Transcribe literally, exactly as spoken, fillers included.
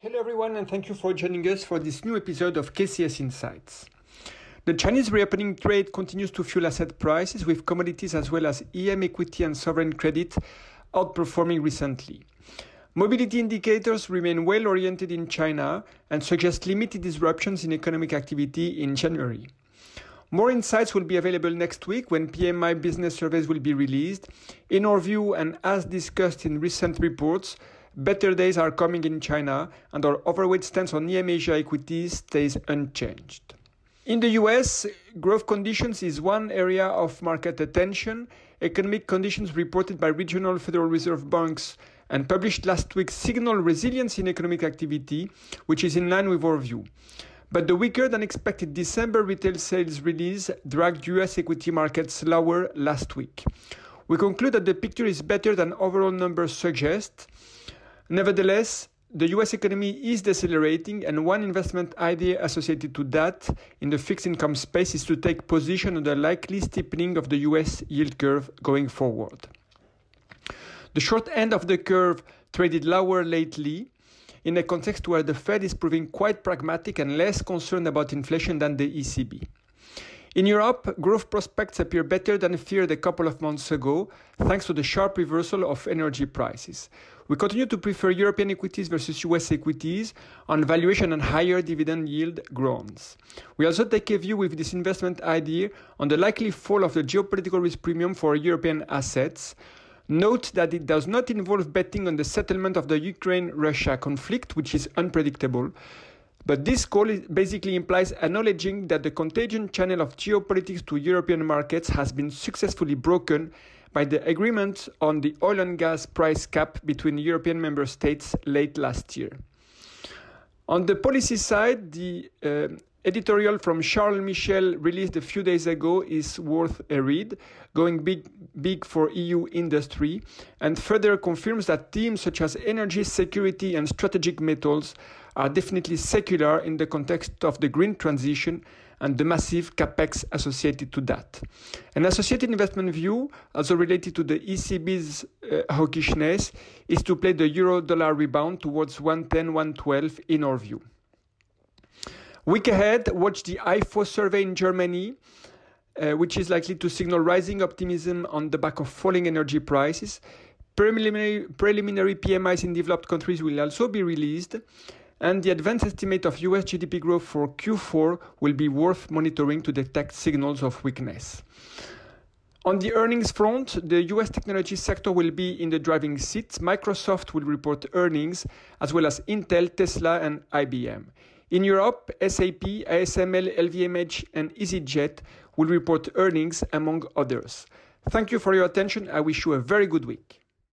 Hello everyone, and thank you for joining us for this new episode of K C S Insights. The Chinese reopening trade continues to fuel asset prices, with commodities as well as E M equity and sovereign credit outperforming recently. Mobility indicators remain well oriented in China and suggest limited disruptions in economic activity in January. More insights will be available next week when P M I business surveys will be released. In our view, and as discussed in recent reports, better days are coming in China, and our overweight stance on E M Asia equities stays unchanged. In the U S, growth conditions is one area of market attention. Economic conditions reported by regional Federal Reserve banks and published last week signal resilience in economic activity, which is in line with our view. But the weaker than expected December retail sales release dragged U S equity markets lower last week. We conclude that the picture is better than overall numbers suggest. Nevertheless, the U S economy is decelerating, and one investment idea associated to that in the fixed income space is to take position on the likely steepening of the U S yield curve going forward. The short end of the curve traded lower lately, in a context where the Fed is proving quite pragmatic and less concerned about inflation than the E C B. In Europe, growth prospects appear better than feared a couple of months ago, thanks to the sharp reversal of energy prices. We continue to prefer European equities versus U S equities on valuation and higher dividend yield grounds. We also take a view with this investment idea on the likely fall of the geopolitical risk premium for European assets. Note that it does not involve betting on the settlement of the Ukraine-Russia conflict, which is unpredictable. But this call basically implies acknowledging that the contagion channel of geopolitics to European markets has been successfully broken by the agreement on the oil and gas price cap between European member states late last year. On the policy side, the uh, editorial from Charles Michel released a few days ago is worth a read, going big, big for E U industry, and further confirms that themes such as energy security and strategic metals are definitely secular in the context of the green transition and the massive capex associated to that. An associated investment view, also related to the E C B's uh, hawkishness, is to play the euro-dollar rebound towards one ten, one twelve in our view. Week ahead, watch the I F O survey in Germany, uh, which is likely to signal rising optimism on the back of falling energy prices. Preliminary, preliminary P M Is in developed countries will also be released, and the advanced estimate of U S G D P growth for Q four will be worth monitoring to detect signals of weakness. On the earnings front, the U S technology sector will be in the driving seat. Microsoft will report earnings, as well as Intel, Tesla, and I B M. In Europe, S A P, A S M L, L V M H, and EasyJet will report earnings, among others. Thank you for your attention. I wish you a very good week.